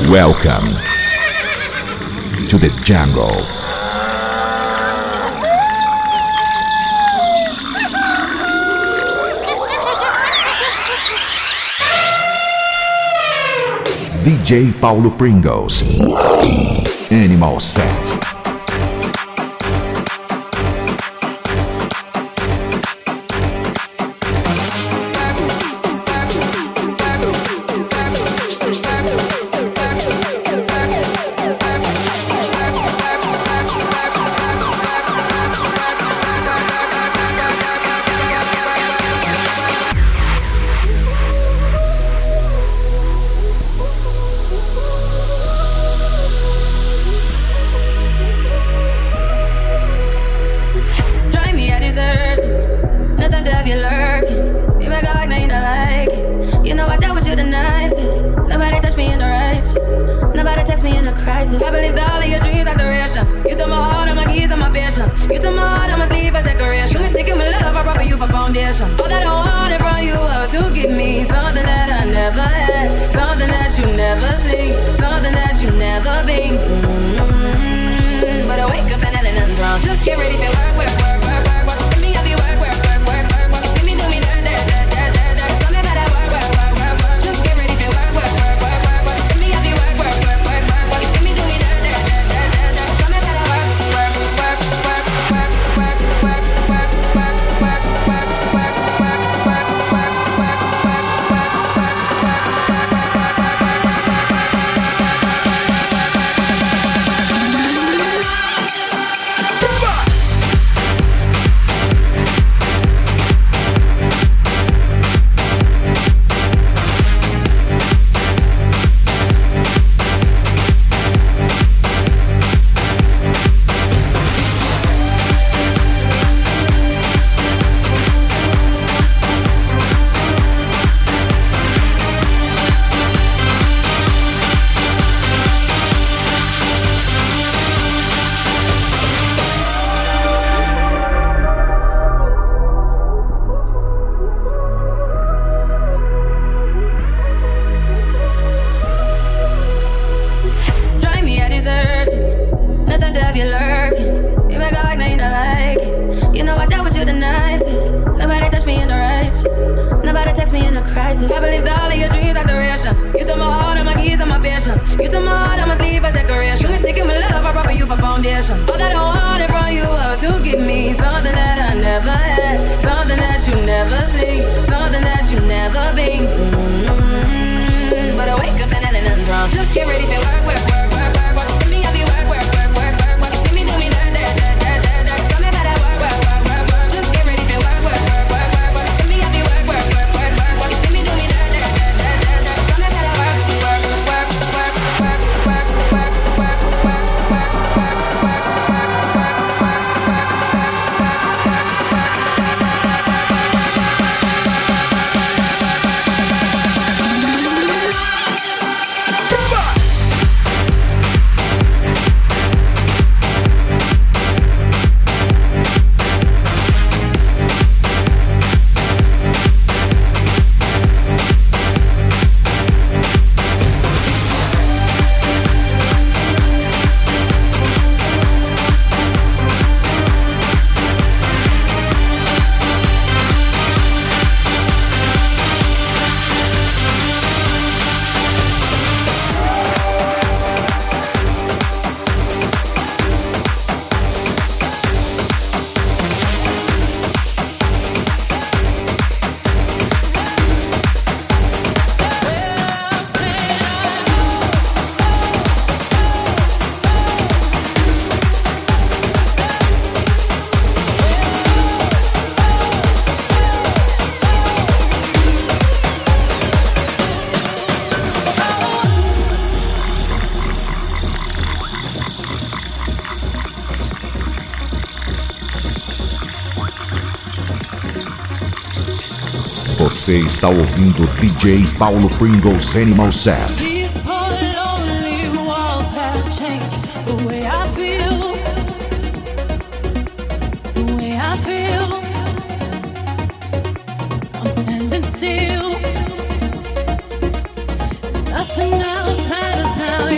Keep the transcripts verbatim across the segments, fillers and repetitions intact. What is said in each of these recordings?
Welcome to the jungle. D J Paulo Pringles, Animal Set. Você está ouvindo D J Paulo Pringles Animal Set. Nothing else matters now.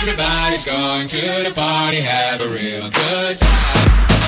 Everybody's going to the party, have a real good time.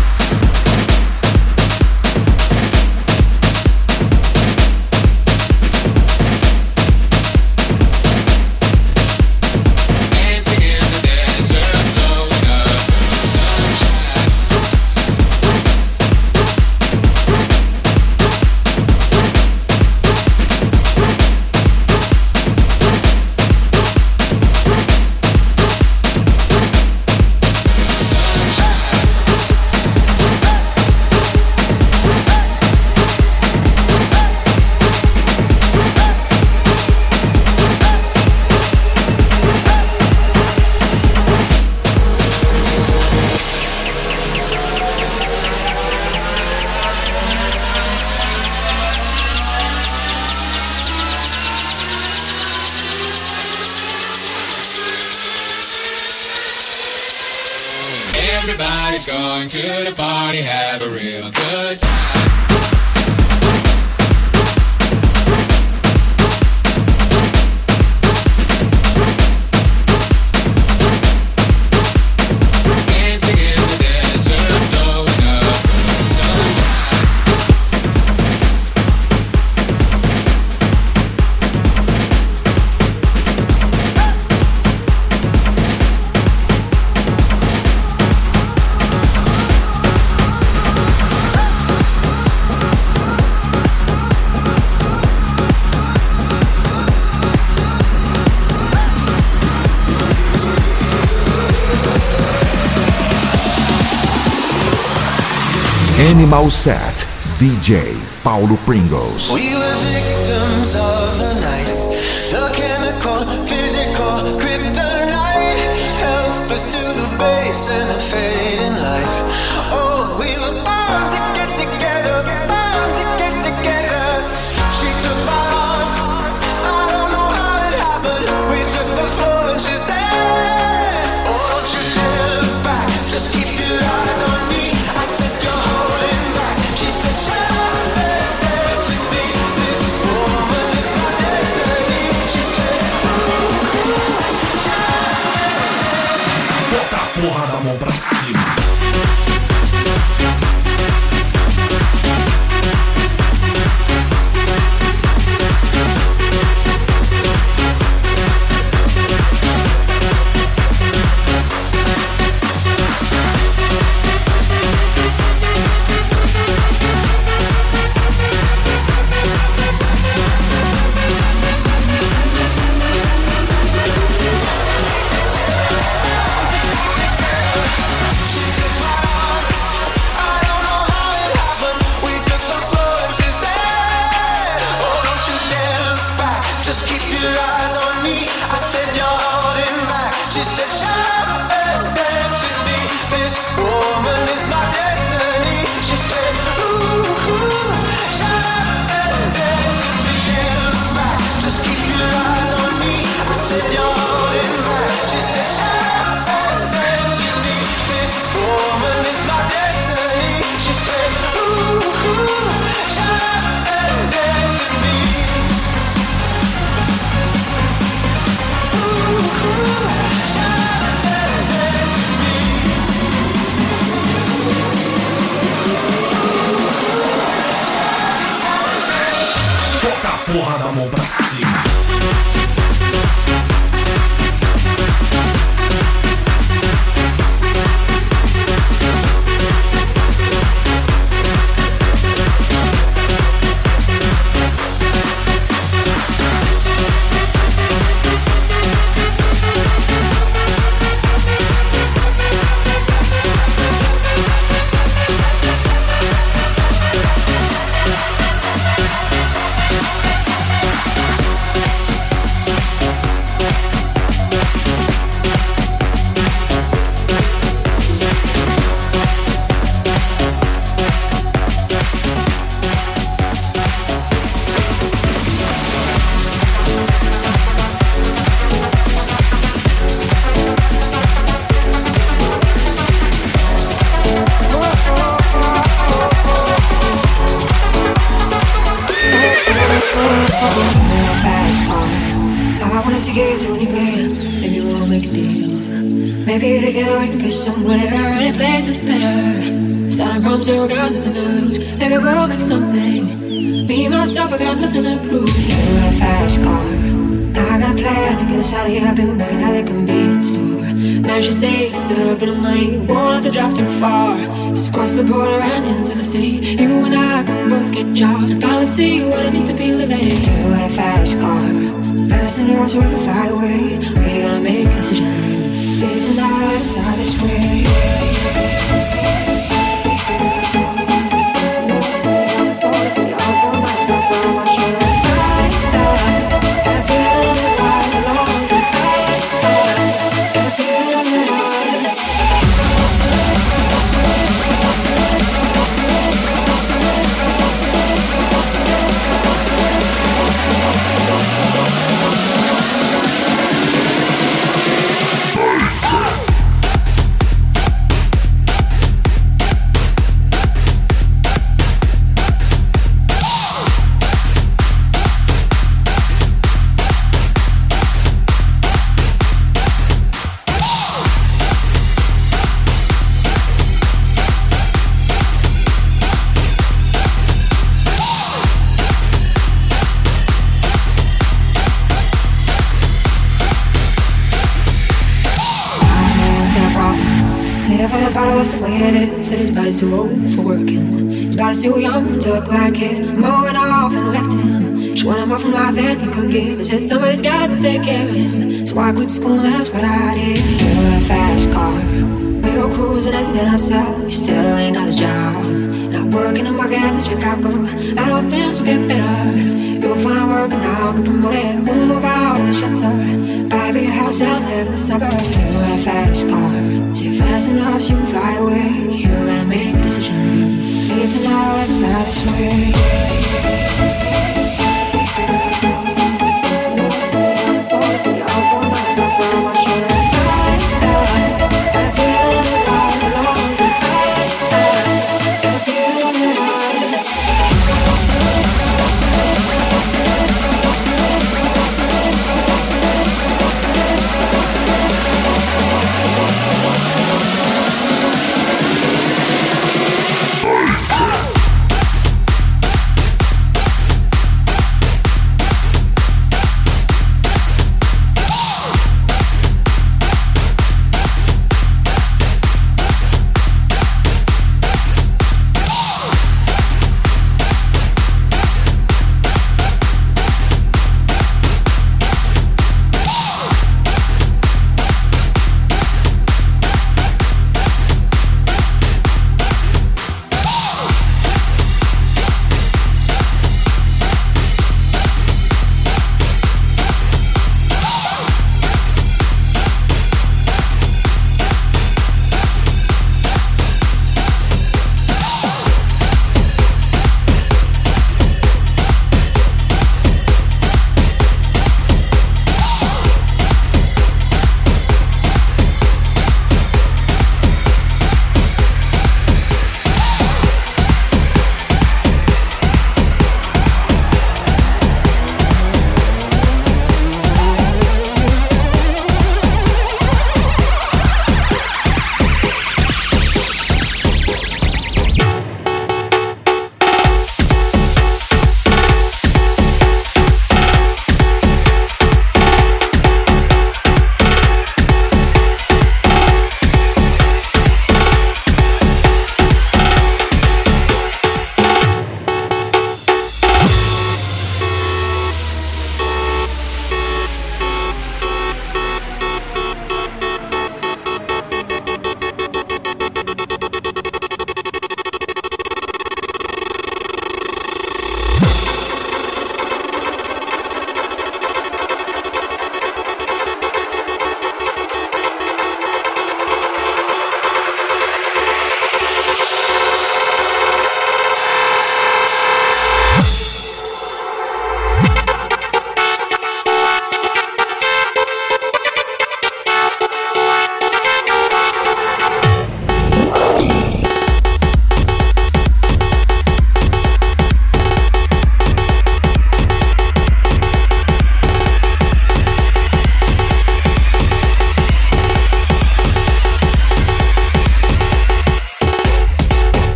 Everybody's going to the party, have a real good time. Dancing in the desert, blowing up the sunshine. Animal Set, D J Paulo Pringles. We were victims of the night, the chemical, physical, kryptonite, helpless to the base and the fading light. Oh, we were born to get together, born to get together. She took my arm, I don't know how it happened. We took the floor and she said, oh, don't you dare look back, just keep your eyes on me. I said, you're holding back. She said, shut up and dance with me. This woman is my destiny. She said, ooh, shut up and dance with me. Bota a porra da mão pra cima. Porra da mão pra cima. Fast car. Now I wanted to get to anywhere, and you will make a deal. Maybe together we can get somewhere. Any place is better. Starting from zero, got nothing to lose. Maybe we'll make something. Me and myself, I got nothing to prove. You got a fast car. Now I got a plan to get us out of here. I've been working at the convenience store. Managed to save just a little bit of money. Won't have to drive too far. Just cross the border and into the city. You and I can both get jobs. Finally see what it means to be living. You got a fast car. So fast enough so we can fly away. We gotta make a decision. Be tonight, fly this way. Said his body's too old for working. His body's too young and took like his mom went off and left him. She wanted more from life than he could give. I said somebody's got to take care of him. So I quit school, that's what I did. You got a fast car. We go cruising and stand ourselves. You still ain't got a job. Not working the market as a checkout girl. I know things will get better. You'll find work now, get promoted. We'll move out of the shelter. Buy a bigger house and live in the suburbs. You got a fast car. Say fast enough so you can fly away. You gotta make a decision. Leave tonight, fly this way.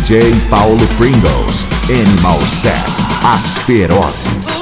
D J Paulo Pringles, Animal Set, As Ferozes.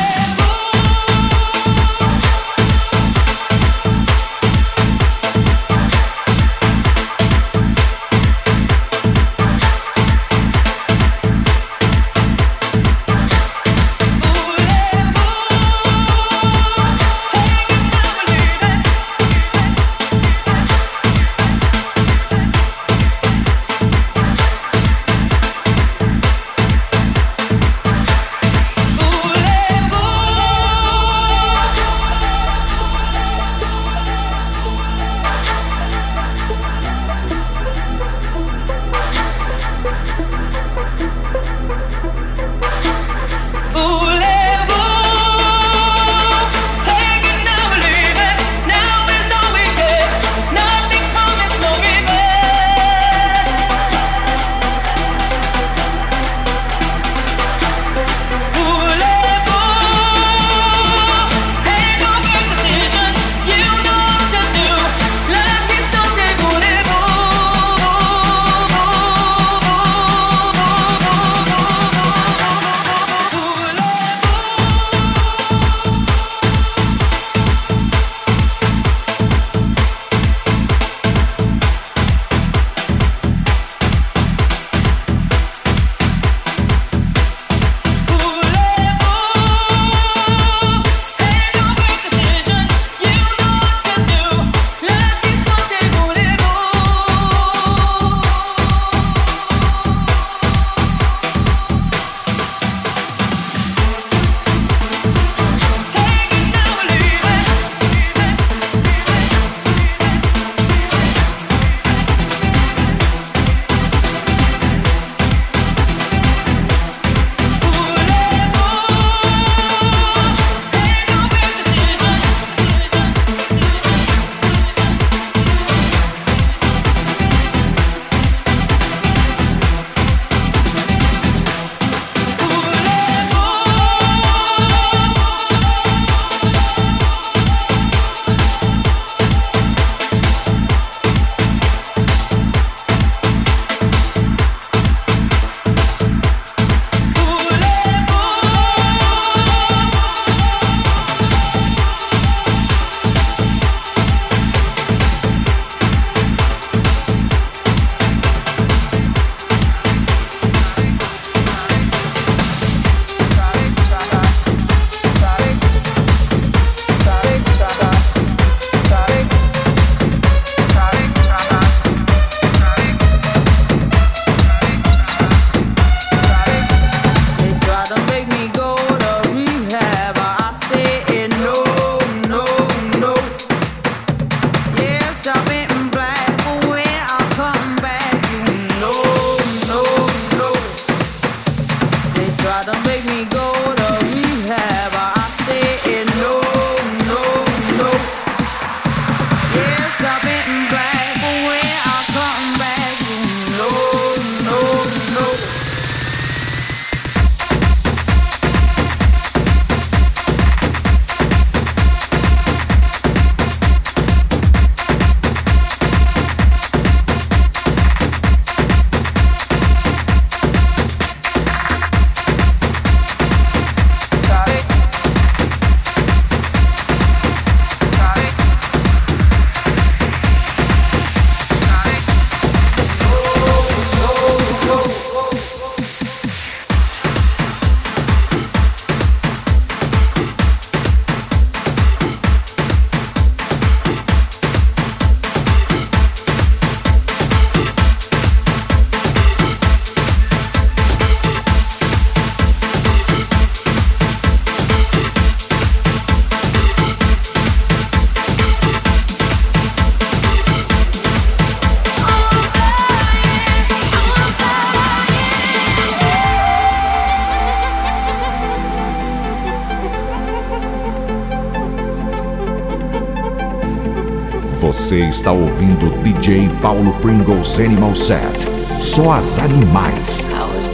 Você está ouvindo D J Paulo Pringles Animal Set. Só as animais. I was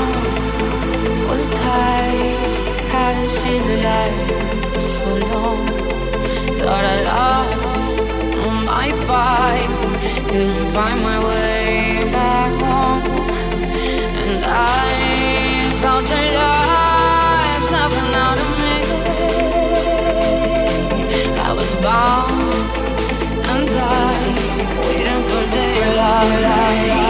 bound, was tired, hadn't seen the light for so long. Thought I lost my fight, couldn't find my way back home. And I found the light snapping out of me. I was bound and tied, waiting for daylight.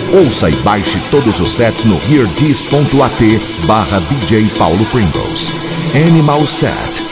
Ouça e baixe todos os sets no hearthis.at barra D J Paulo Pringles. Animal Set.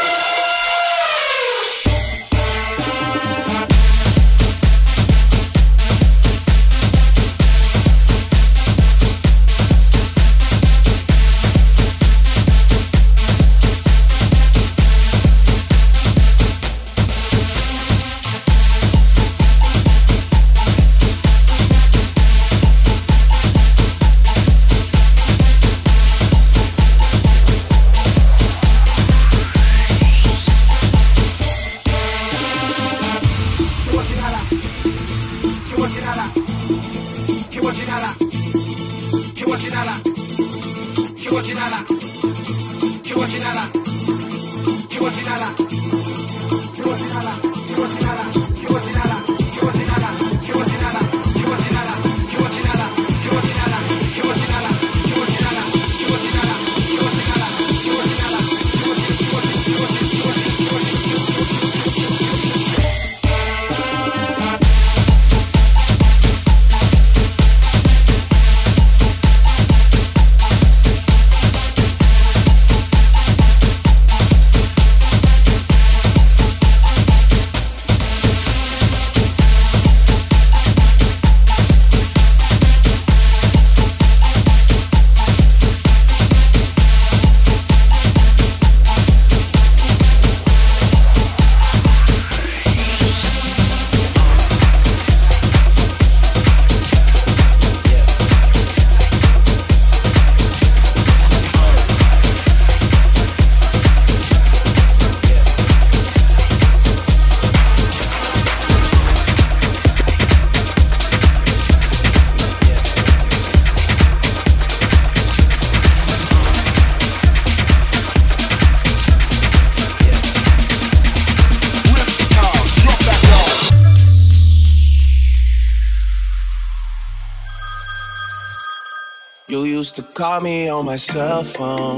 You used to call me on my cell phone,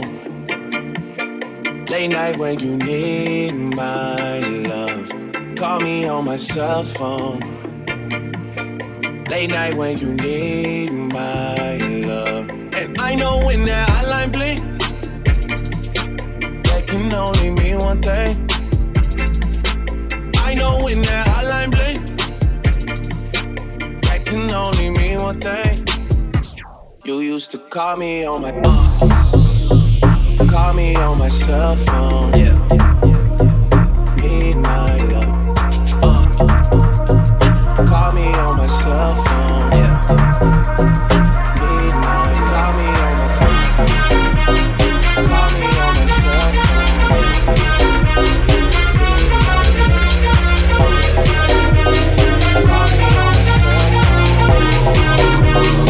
late night when you need my love. Call me on my cell phone, late night when you need my love. And I know when that hotline blink, that can only mean one thing. I know when that hotline blink, that can only mean one thing. You used to call me on my uh, call me on my cell phone. Yeah, need my love. Uh, call me on my cell phone. Yeah, need my. Call me on my. Call me on my cell phone. Need my love. Call me on my cell phone.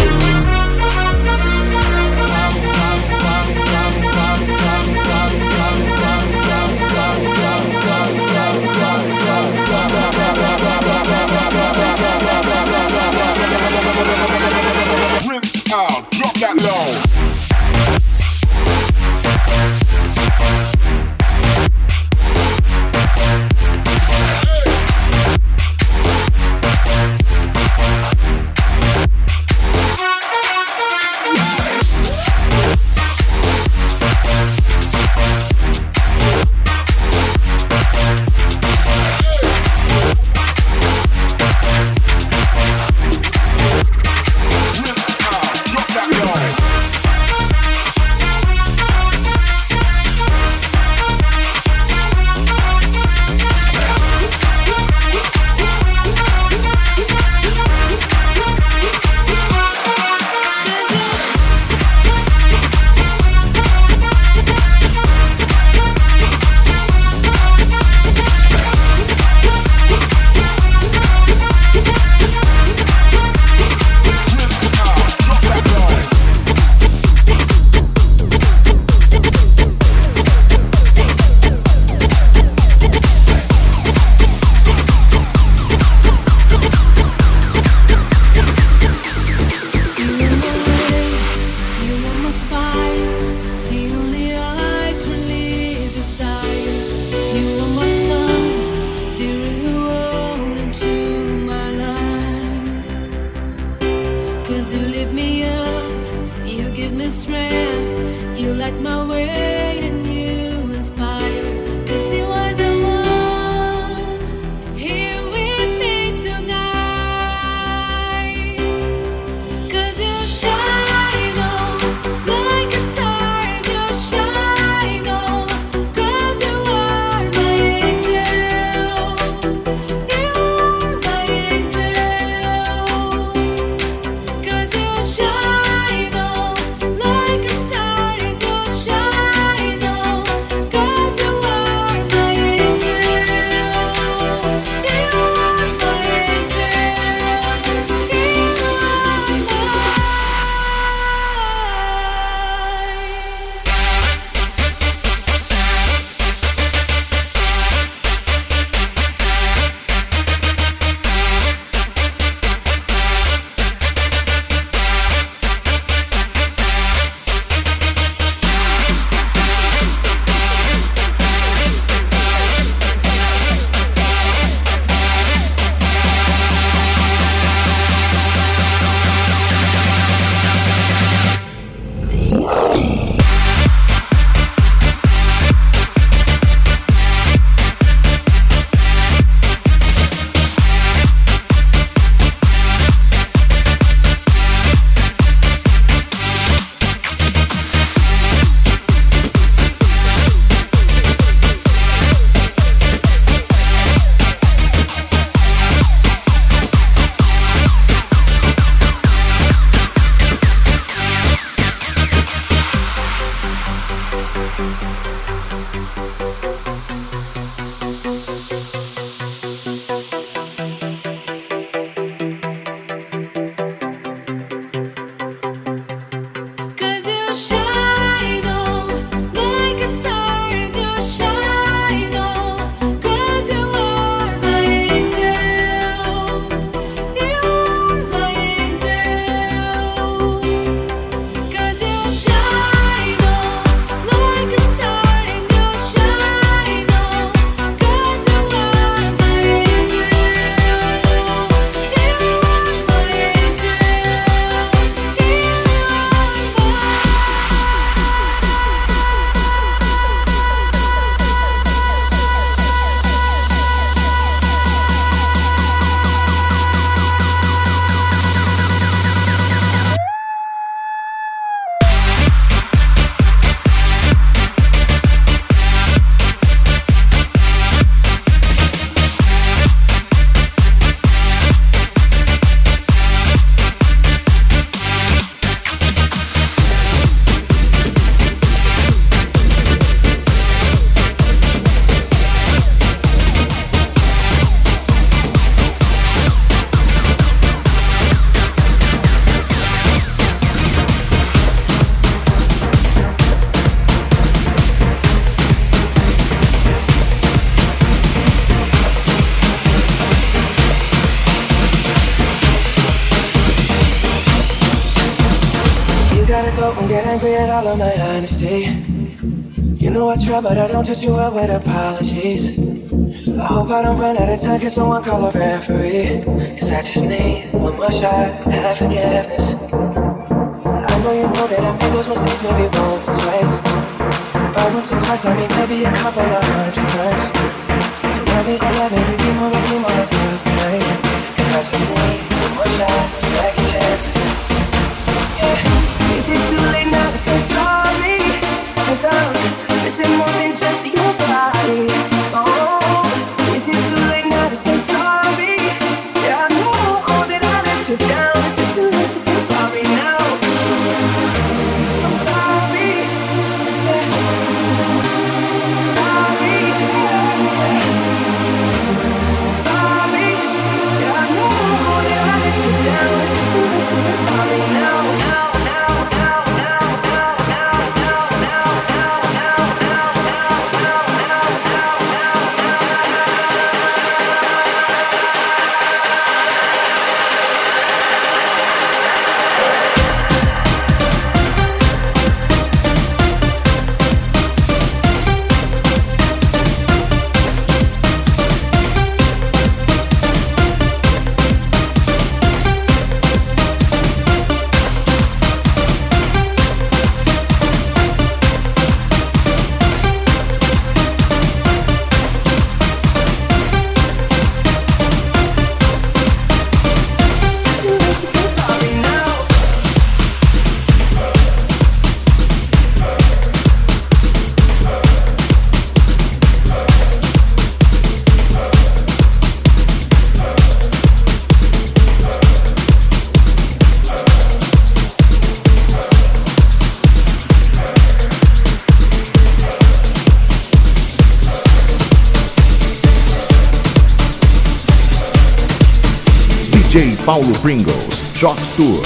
Don't get angry at all of my honesty. You know I try, but I don't treat you well with apologies. I hope I don't run out of time, can someone call a referee? Cause I just need one more shot, have forgiveness. I know you know that I made those mistakes maybe once or twice. But once or twice, I mean maybe a couple of hundred times. So let me, oh let me redeem or redeem on myself tonight. Cause I just need one more shot, second chances. Is it too late now to say sorry? Cause I'm missing more than just your body. Oh, is it too late now to say sorry? Yeah, I know that I let you down. Is it too late to say sorry now? I'm sorry. Yeah. Sorry. Yeah. Sorry. Yeah, I know that I let you down. Is it too late to say sorry now? Now. D J Paulo Pringles, Shock Tour.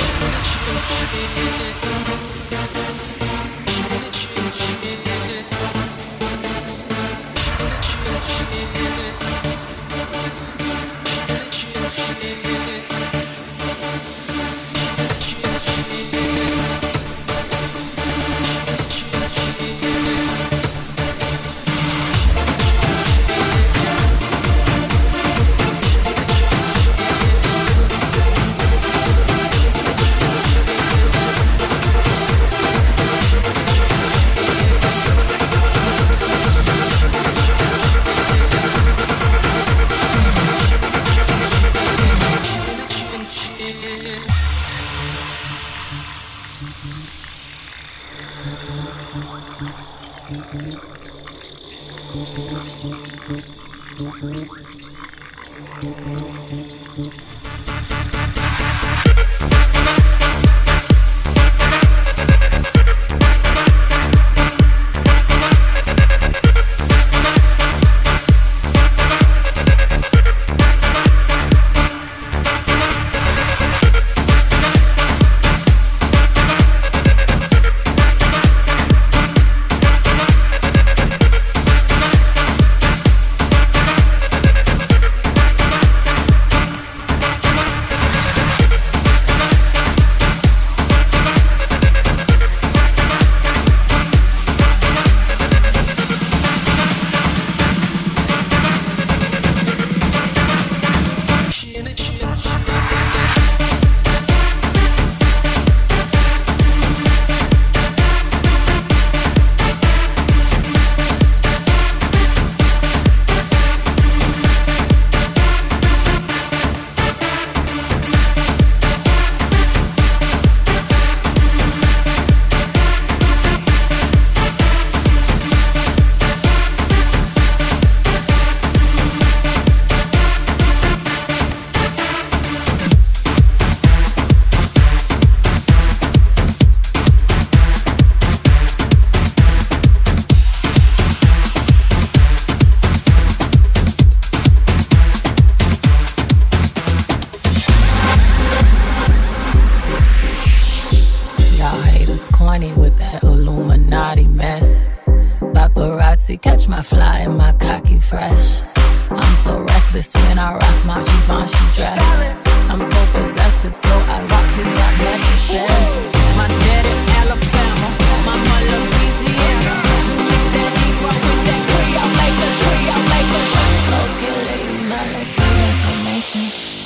sexy, catch my fly and my cocky fresh. I'm so reckless when I rock my Givenchy dress. I'm so possessive, so I rock his rock mattresses. My daddy Alabama, mama Louisiana. Mix that Negro with that Creole, make a Creole, make a. Okay, ladies, now let's get information.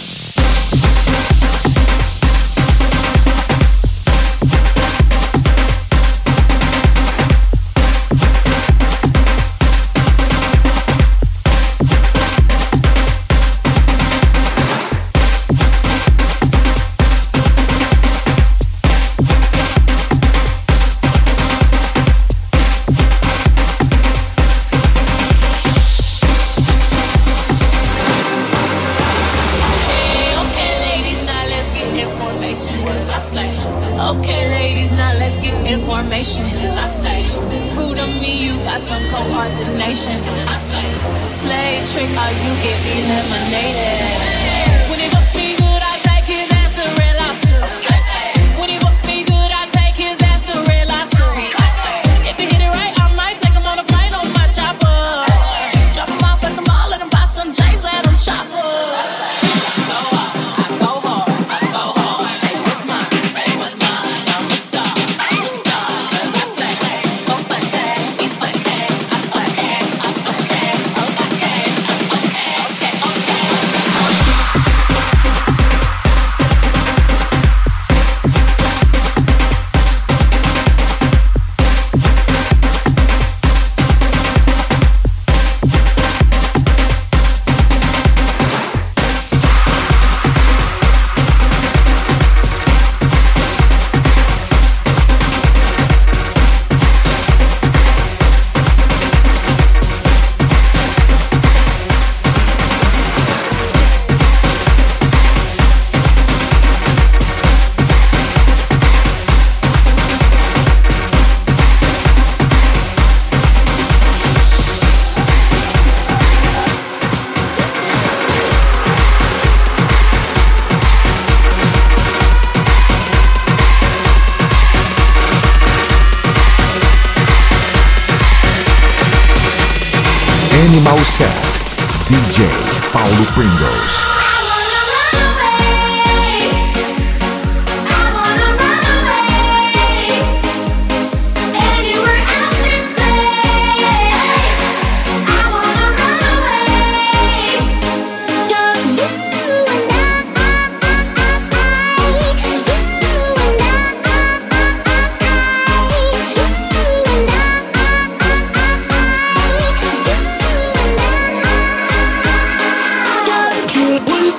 Animal Set, D J Paulo Pringles. One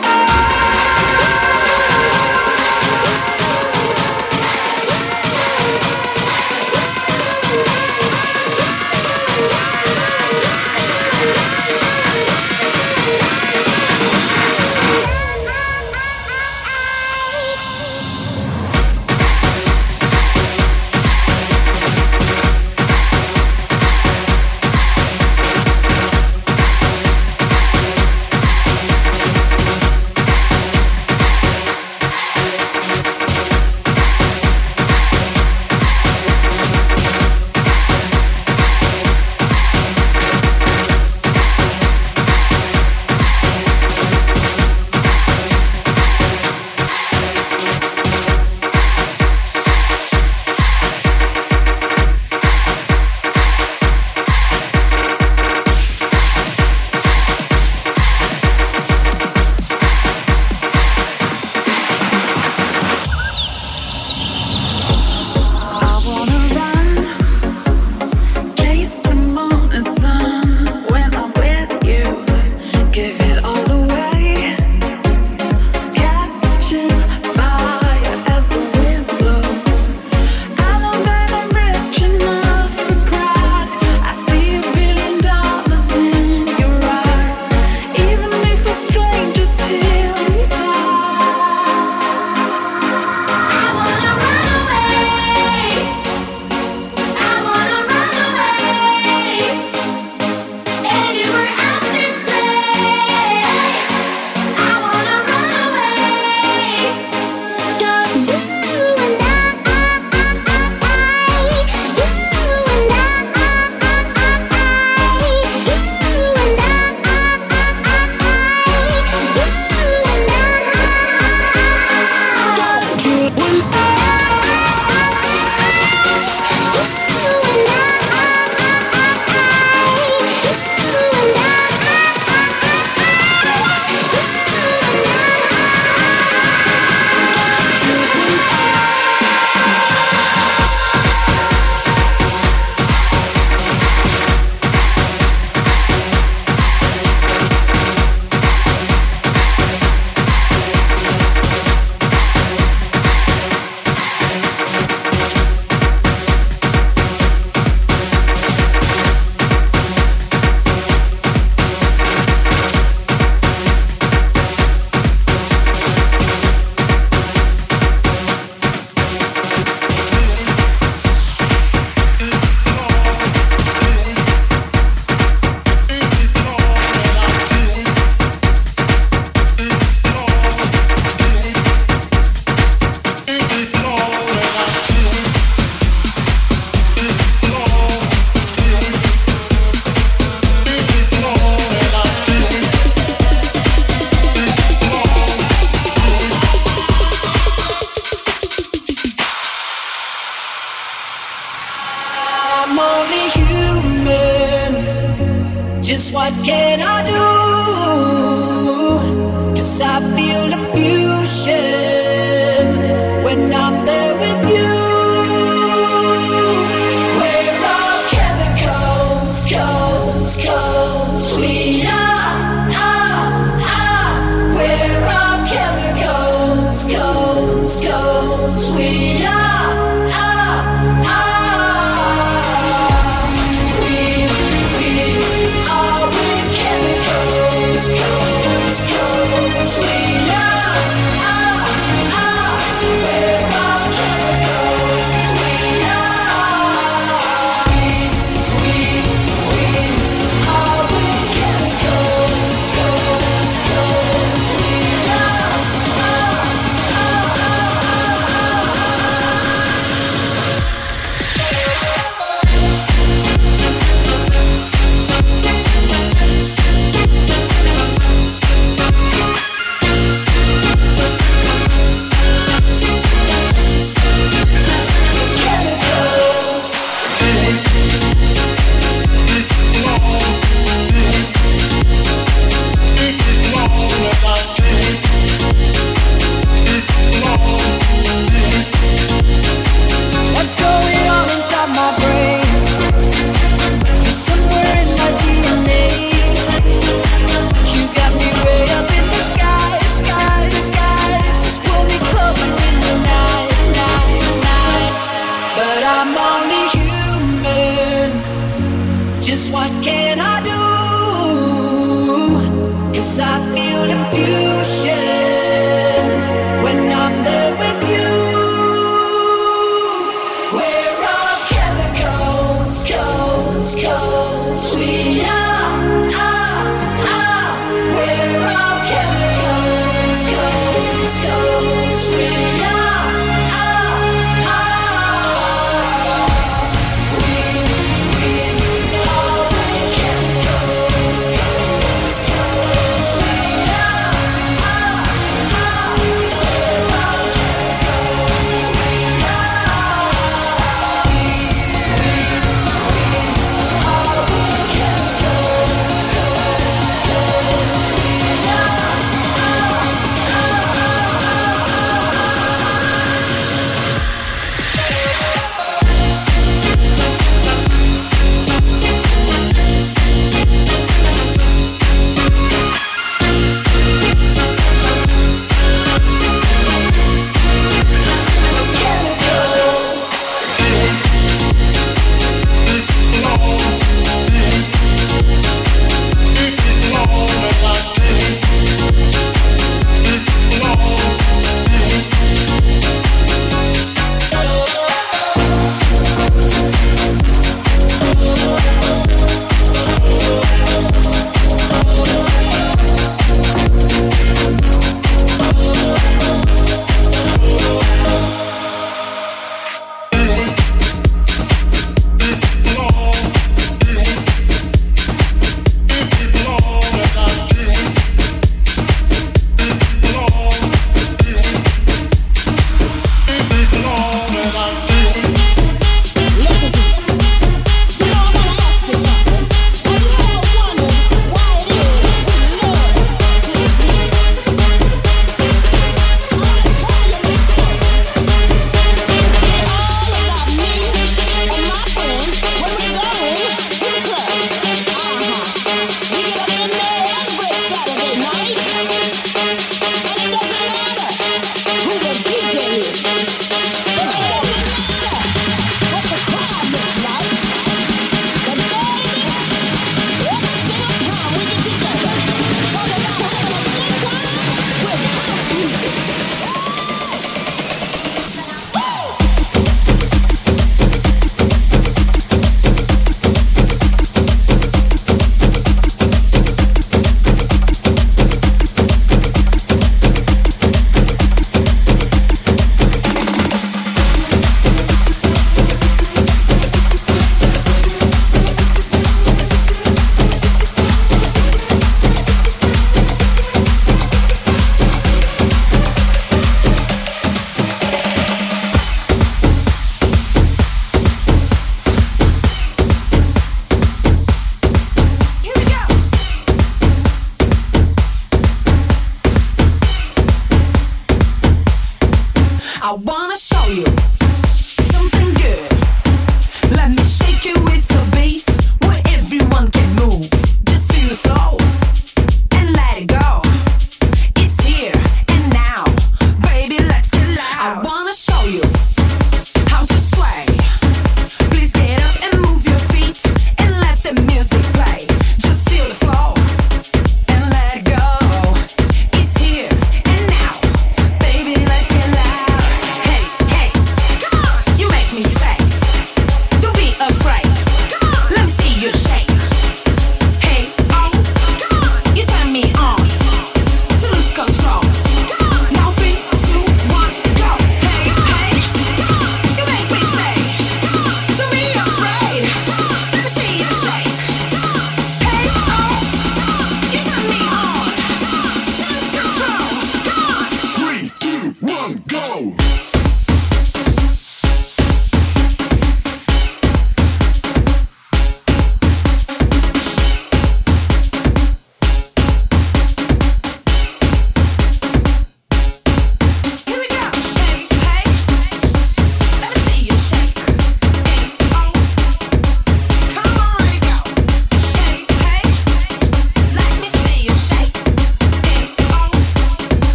Just what can I do? 'Cause I feel the fusion when I'm there with you. We're all chemicals, coals, coals. We are, are, are. We're all chemicals, coals, coals. We are, are, are. We, we are with chemicals, coals, coals. We are, are, are. We're all chemicals. We are. We, we, we are with chemicals, coals, coals. We are, are, what's going on inside my brain? You're somewhere in my D N A. You got me way up in the sky, sky, sky. Just pull me closer in the night, night, night. But I'm only human. Just what can I do? 'Cause I feel the fusion when I'm there with you. We're all chemicals, coals, coals. We are, are, are. We're all chemicals, coals, coals. We are, are, are. We, we are with chemicals, coals, coals. We are, are, are.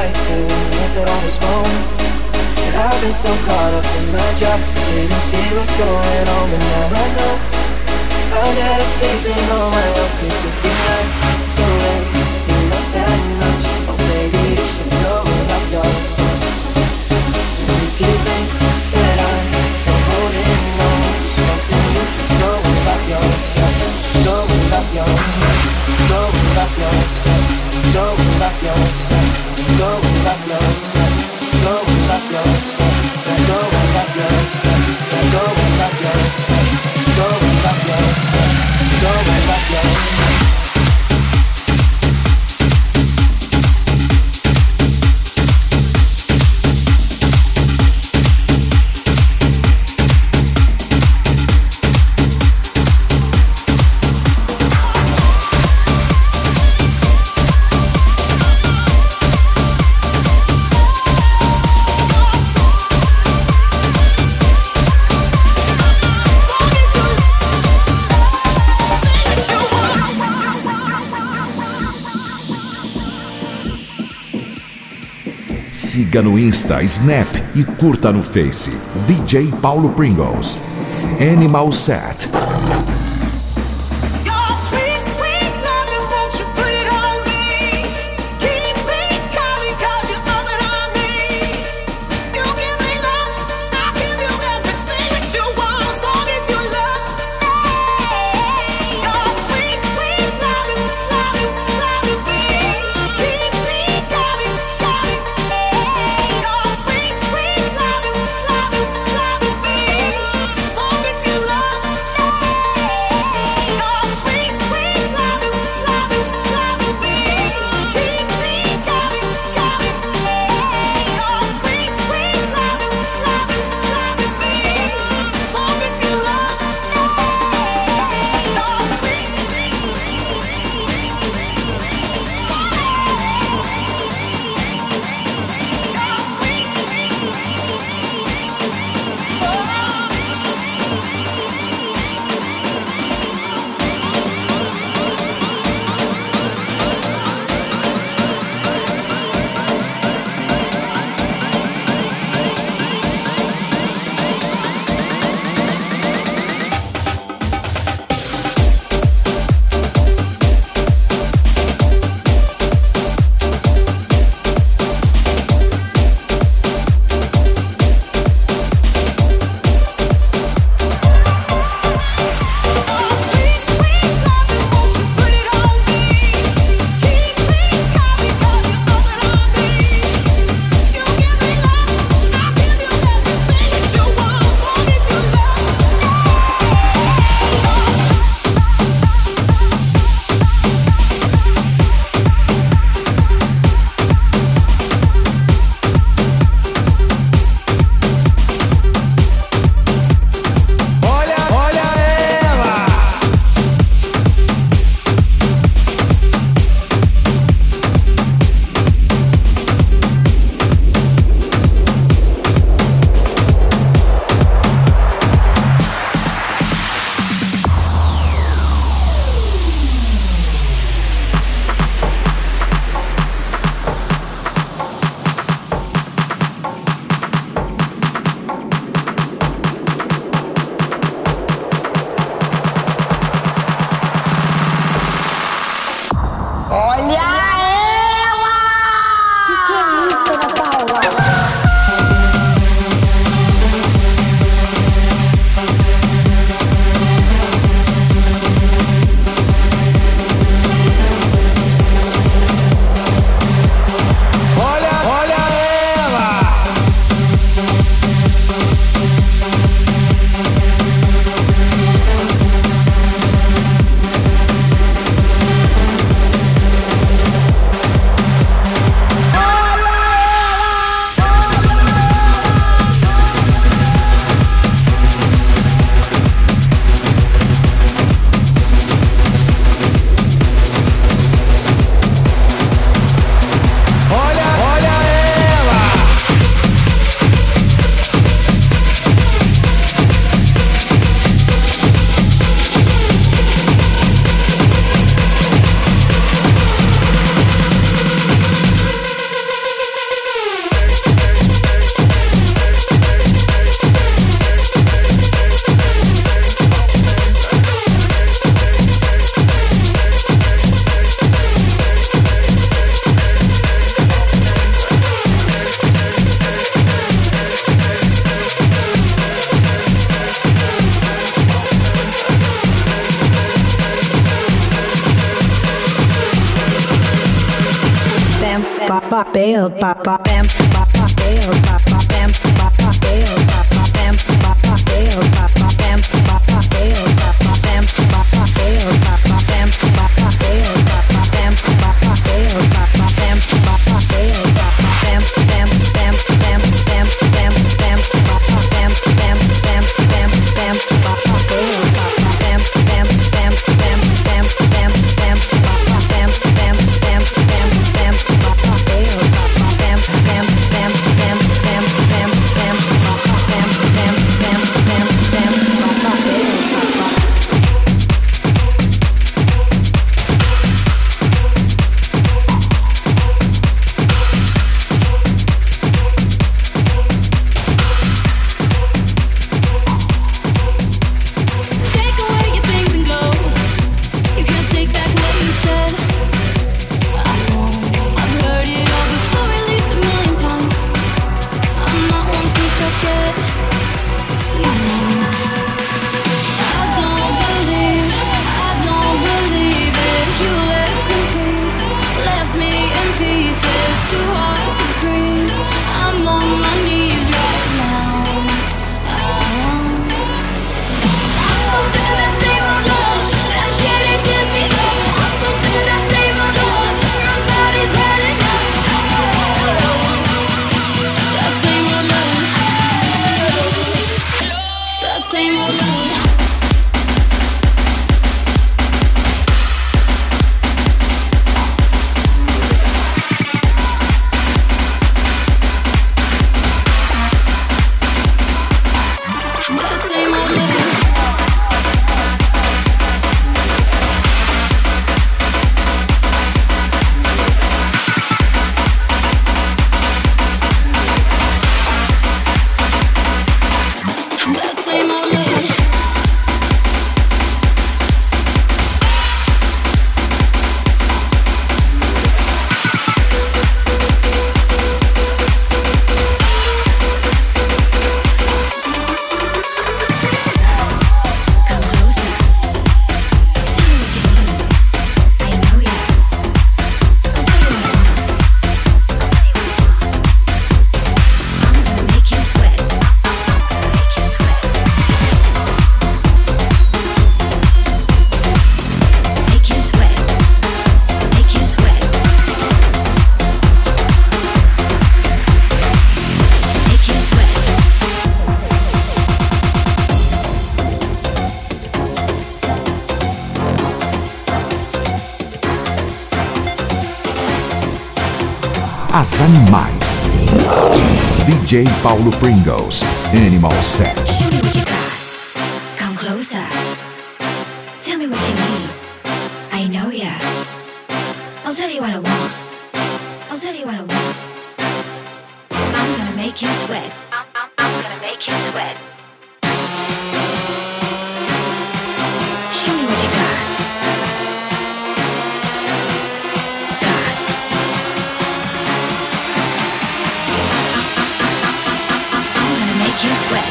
right to admit that I was wrong. And I've been so caught up in my job, didn't see what's going on, but now I know I'm better sleeping on my own. Cause if you like the way you look that much, oh baby, you should go and love yourself. And if you think that I'm still holding on to something, you should go and love yourself. Go and love yourself. Go and love yourself. Go and love yourself. Go and love yourself. Go and love yourself. Go and love yourself. Go and love yourself. Go and love yourself. Go and love yourself. Siga no Insta, Snap e curta no Face. D J Paulo Pringles. Animal Set. Love papel, papel, papel, papel, papel, As Animais. D J Paulo Pringles, Animal Set. Show me what you got. Come closer. Tell me what you need. I know ya. I'll tell you what I want. I'll tell you what I want. I'm gonna make you sweat. I'm, I'm, I'm gonna make you sweat. Show me what you got. You sweat.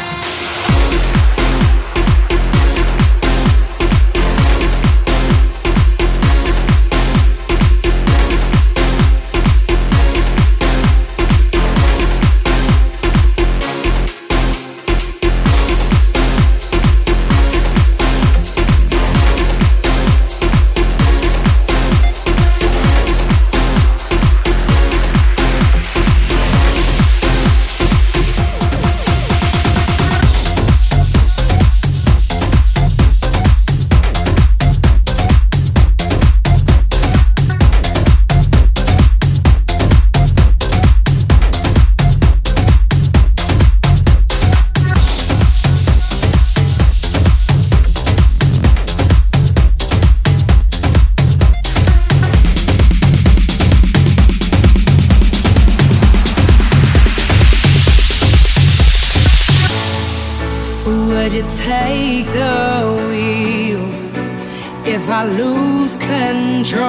Would you take the wheel if I lose control?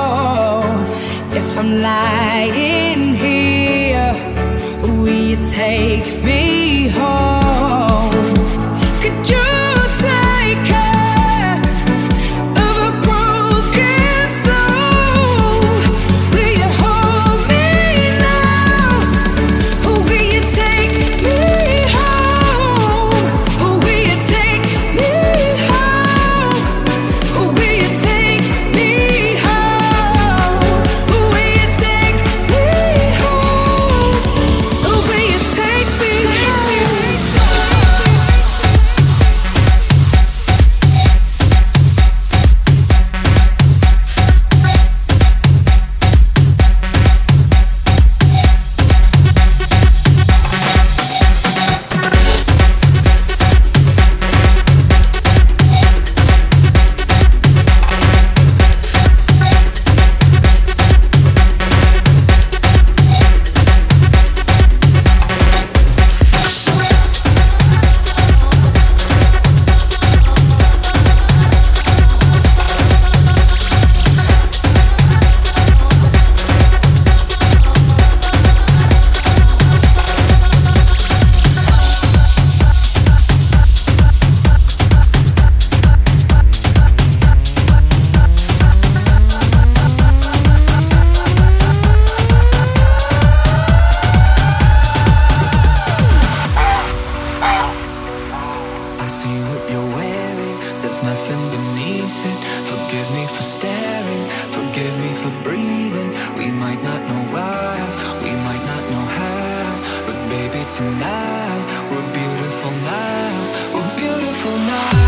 If I'm lying here, will you take me home? Could you take care of a broken soul? Will you hold me I see what you're wearing, there's nothing beneath it. Forgive me for staring, forgive me for breathing. We might not know why, we might not know how, but baby tonight, we're beautiful now, we're beautiful now.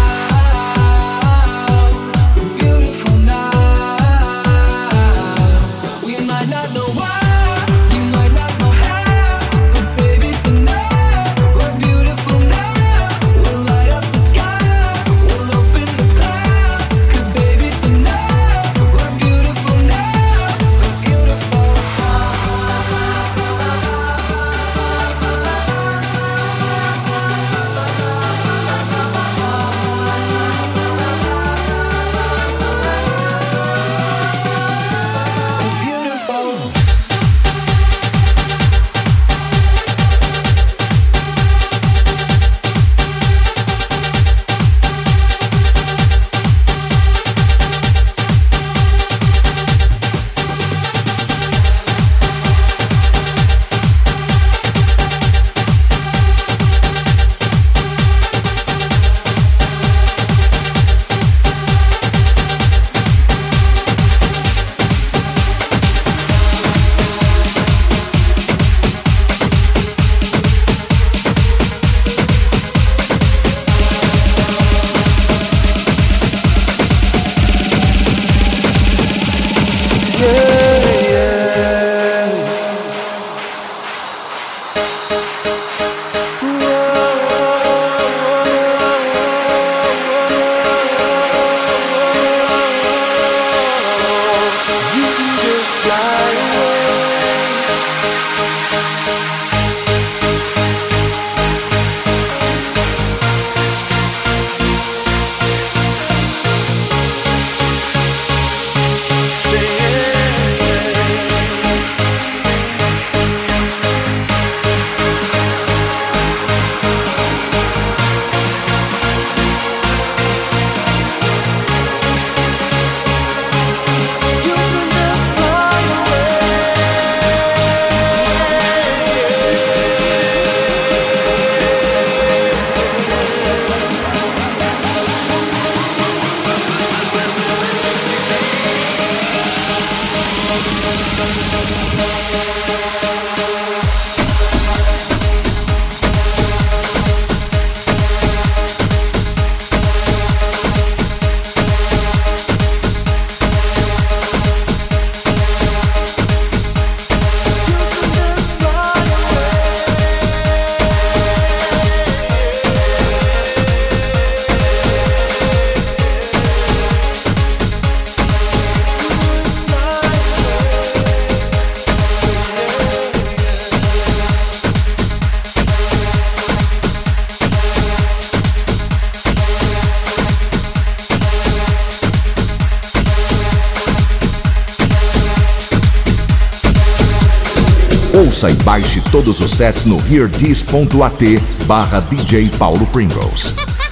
Ouça e baixe todos os sets no hearthis.at barra D J Paulo Pringles.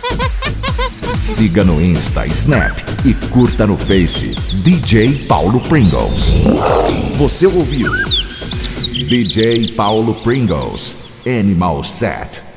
Siga no Insta, Snap e curta no Face D J Paulo Pringles. Você ouviu D J Paulo Pringles, Animal Set.